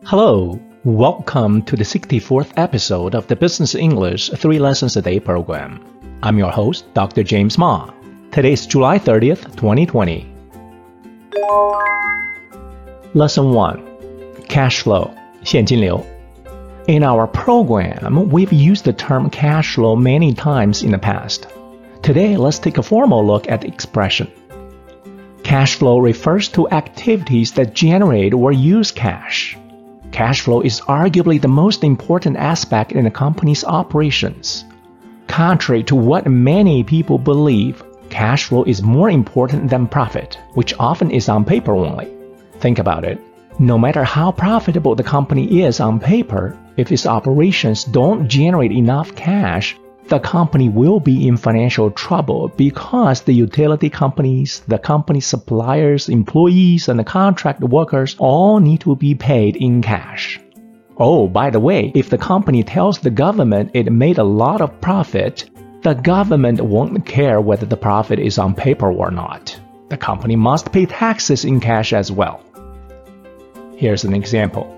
Hello, welcome to the 64th episode of the Business English 3 Lessons a Day program. I'm your host, Dr. James Ma. Today is July 30th, 2020. Lesson 1. Cash flow, 现金流. In our program, we've used the term cash flow many times in the past. Today, let's take a formal look at the expression. Cash flow refers to activities that generate or use cash. Cash flow is arguably the most important aspect in a company's operations. Contrary to what many people believe, cash flow is more important than profit, which often is on paper only. Think about it. No matter how profitable the company is on paper, if its operations don't generate enough cash, the company will be in financial trouble because the utility companies, the company's suppliers, employees, and the contract workers all need to be paid in cash. Oh, by the way, if the company tells the government it made a lot of profit, the government won't care whether the profit is on paper or not. The company must pay taxes in cash as well. Here's an example.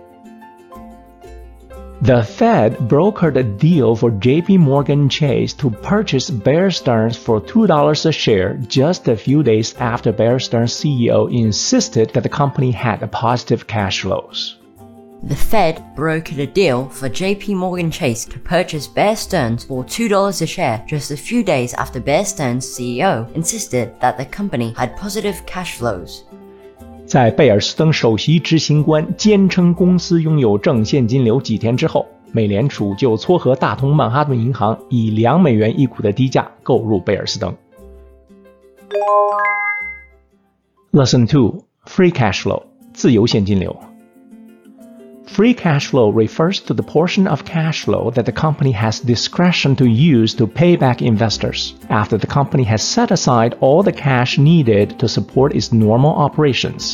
The Fed brokered a deal for JP Morgan Chase to purchase Bear Stearns for $2 a share just a few days after Bear Stearns' CEO insisted that the company had positive cash flows. The Fed brokered a deal for JP Morgan Chase to purchase Bear Stearns for $2 a share just a few days after Bear Stearns' CEO insisted that the company had positive cash flows. 在贝尔斯登首席执行官坚称公司拥有正现金流几天之后，美联储就撮合大通曼哈顿银行以$2一股的低价购入贝尔斯登。Lesson 2. Free cash flow, 自由现金流。Free cash flow refers to the portion of cash flow that the company has discretion to use to pay back investors after the company has set aside all the cash needed to support its normal operations.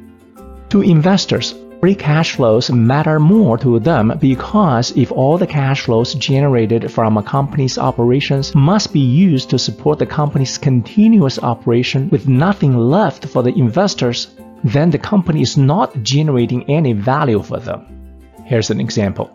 To investors, free cash flows matter more to them because if all the cash flows generated from a company's operations must be used to support the company's continuous operation with nothing left for the investors, then the company is not generating any value for them. Here's an example.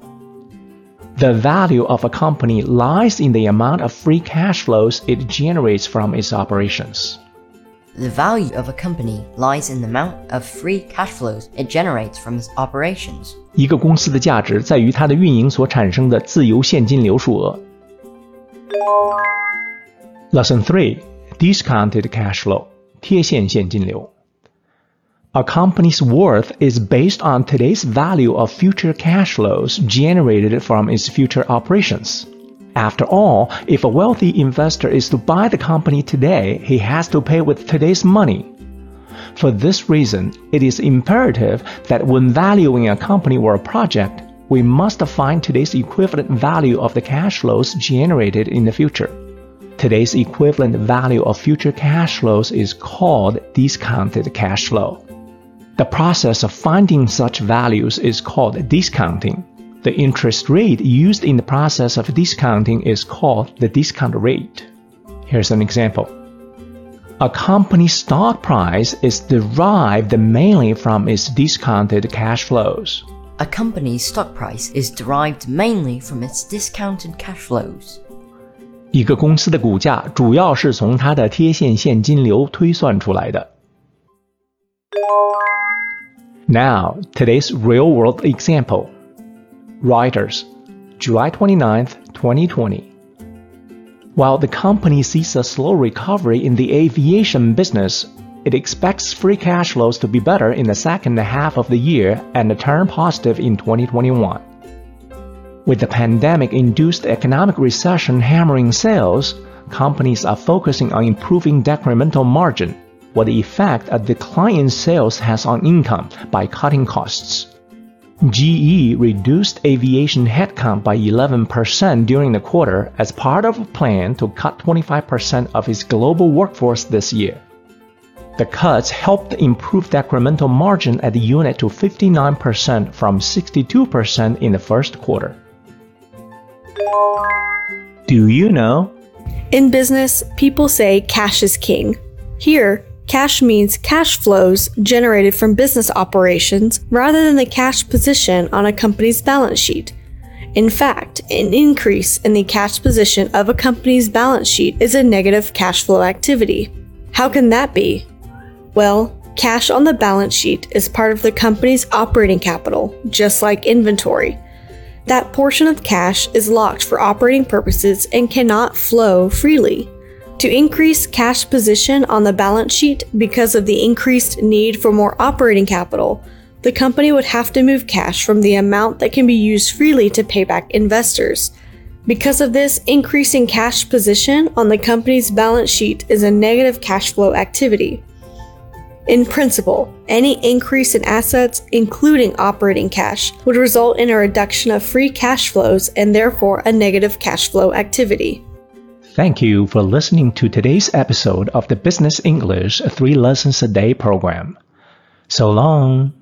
The value of a company lies in the amount of free cash flows it generates from its operations. The value of a company lies in the amount of free cash flows it generates from its operations. 一个公司的价值在于它的运营所产生的自由现金流数额。Lesson 3. Discounted cash flow, 贴现现金流。A company's worth is based on today's value of future cash flows generated from its future operations. After all, if a wealthy investor is to buy the company today, he has to pay with today's money. For this reason, it is imperative that when valuing a company or a project, we must find today's equivalent value of the cash flows generated in the future. Today's equivalent value of future cash flows is called discounted cash flow. The process of finding such values is called discounting. The interest rate used in the process of discounting is called the discount rate. Here's an example. A company's stock price is derived mainly from its discounted cash flows. A company's stock price is derived mainly from its discounted cash flows. 一个公司的股价主要是从它的贴现现金流推算出来的。Now, today's real-world example. Reuters, July 29th, 2020. While the company sees a slow recovery in the aviation business, it expects free cash flows to be better in the second half of the year and turn positive in 2021. With the pandemic-induced economic recession hammering sales, companies are focusing on improving decremental margin, what the effect a decline in sales has on income by cutting costs. GE reduced aviation headcount by 11% during the quarter as part of a plan to cut 25% of its global workforce this year. The cuts helped improve decremental margin at the unit to 59% from 62% in the first quarter. Do you know? In business, people say cash is king. Here, cash means cash flows generated from business operations rather than the cash position on a company's balance sheet. In fact, an increase in the cash position of a company's balance sheet is a negative cash flow activity. How can that be? Well, cash on the balance sheet is part of the company's operating capital, just like inventory. That portion of cash is locked for operating purposes and cannot flow freely. To increase cash position on the balance sheet because of the increased need for more operating capital, the company would have to move cash from the amount that can be used freely to pay back investors. Because of this, increasing cash position on the company's balance sheet is a negative cash flow activity. In principle, any increase in assets, including operating cash, would result in a reduction of free cash flows and therefore a negative cash flow activity. Thank you for listening to today's episode of the Business English 3 Lessons a Day program. So long.